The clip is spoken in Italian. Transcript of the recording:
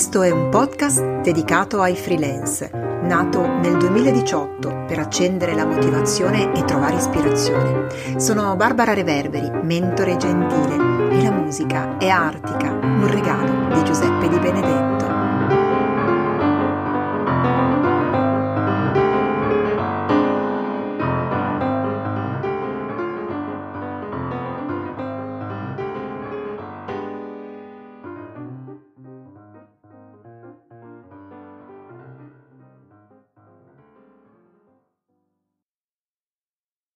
Questo è un podcast dedicato ai freelance, nato nel 2018 per accendere la motivazione e trovare ispirazione. Sono Barbara Reverberi, mentore gentile, e la musica è Artica, un regalo di Giuseppe Di Benedetto.